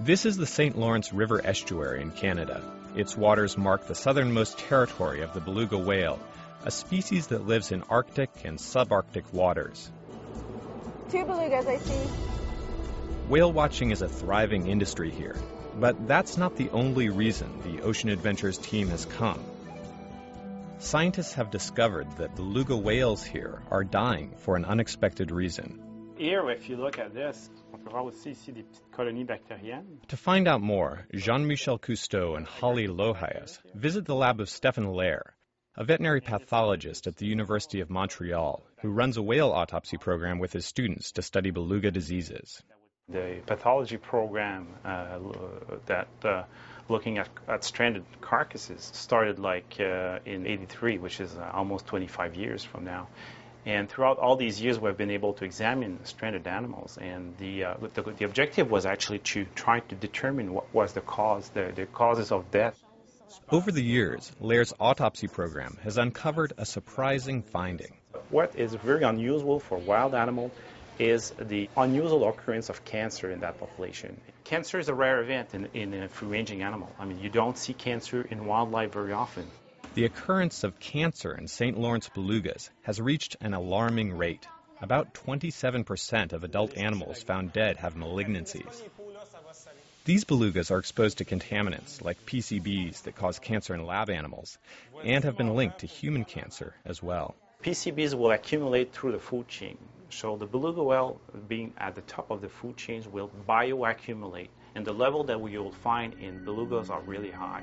This is the St. Lawrence River estuary in Canada. Its waters mark the southernmost territory of the beluga whale, a species that lives in Arctic and subarctic waters. 2 belugas, I see. Whale watching is a thriving industry here, but that's not the only reason the Ocean Adventures team has come. Scientists have discovered that beluga whales here are dying for an unexpected reason. Here, if you look at this, on peut voir aussi ici des petites colonies bactériennes. To find out more, Jean-Michel Cousteau and Holly Lohias visit the lab of Stefan Lair, a veterinary pathologist at the University of Montreal who runs a whale autopsy program with his students to study beluga diseases. The pathology program looking at stranded carcasses started in '83, which is almost 25 years from now. And throughout all these years, we've been able to examine stranded animals, and the objective was actually to try to determine what was the causes of death. Over the years, Lair's autopsy program has uncovered a surprising finding. What is very unusual for wild animals is the unusual occurrence of cancer in that population. Cancer is a rare event in a free-ranging animal. I mean, you don't see cancer in wildlife very often. The occurrence of cancer in St. Lawrence belugas has reached an alarming rate. About 27% of adult animals found dead have malignancies. These belugas are exposed to contaminants like PCBs that cause cancer in lab animals and have been linked to human cancer as well. PCBs will accumulate through the food chain. So the beluga whale, being at the top of the food chains, will bioaccumulate, and the level that we will find in belugas are really high.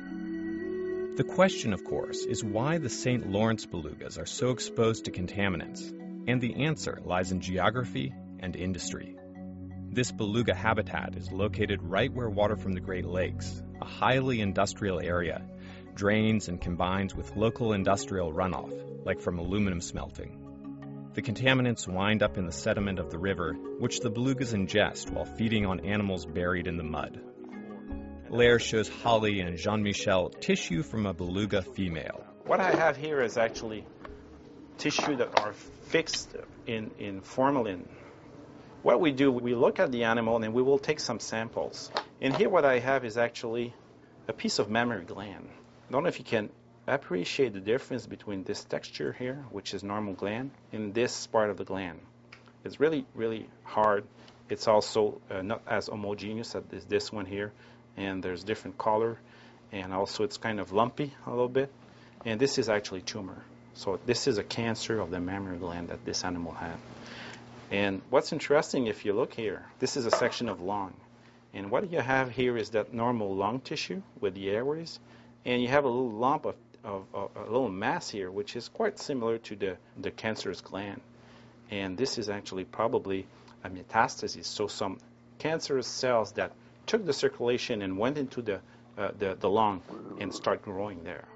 The question, of course, is why the St. Lawrence belugas are so exposed to contaminants, and the answer lies in geography and industry. This beluga habitat is located right where water from the Great Lakes, a highly industrial area, drains and combines with local industrial runoff, like from aluminum smelting. The contaminants wind up in the sediment of the river, which the belugas ingest while feeding on animals buried in the mud. Lair shows Holly and Jean-Michel tissue from a beluga female. What I have here is actually tissue that are fixed in formalin. What we do, we look at the animal and we will take some samples. And here what I have is actually a piece of mammary gland. I don't know if you can appreciate the difference between this texture here, which is normal gland, and this part of the gland. It's really, really hard. It's also not as homogeneous as this one here. And there's different color, and also it's kind of lumpy a little bit. And this is actually tumor. So this is a cancer of the mammary gland that this animal had. And what's interesting, if you look here, this is a section of lung. And what you have here is that normal lung tissue with the airways, and you have a little lump of a little mass here, which is quite similar to the cancerous gland. And this is actually probably a metastasis, so some cancerous cells that took the circulation and went into the lung and start growing there.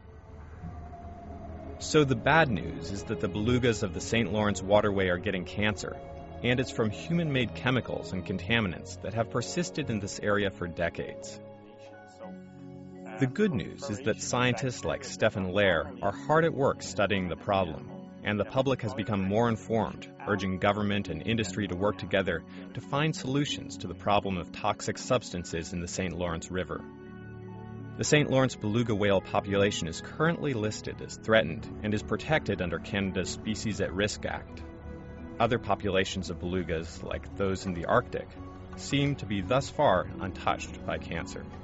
So the bad news is that the belugas of the St. Lawrence waterway are getting cancer, and it's from human-made chemicals and contaminants that have persisted in this area for decades. The good news is that scientists like Stefan Lair are hard at work studying the problem, and the public has become more informed, urging government and industry to work together to find solutions to the problem of toxic substances in the St. Lawrence River. The St. Lawrence beluga whale population is currently listed as threatened and is protected under Canada's Species at Risk Act. Other populations of belugas, like those in the Arctic, seem to be thus far untouched by cancer.